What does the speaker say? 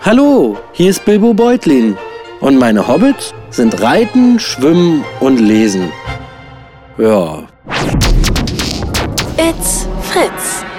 Hallo, hier ist Bilbo Beutlin und meine Hobbits sind Reiten, Schwimmen und Lesen. Ja. It's Fritz.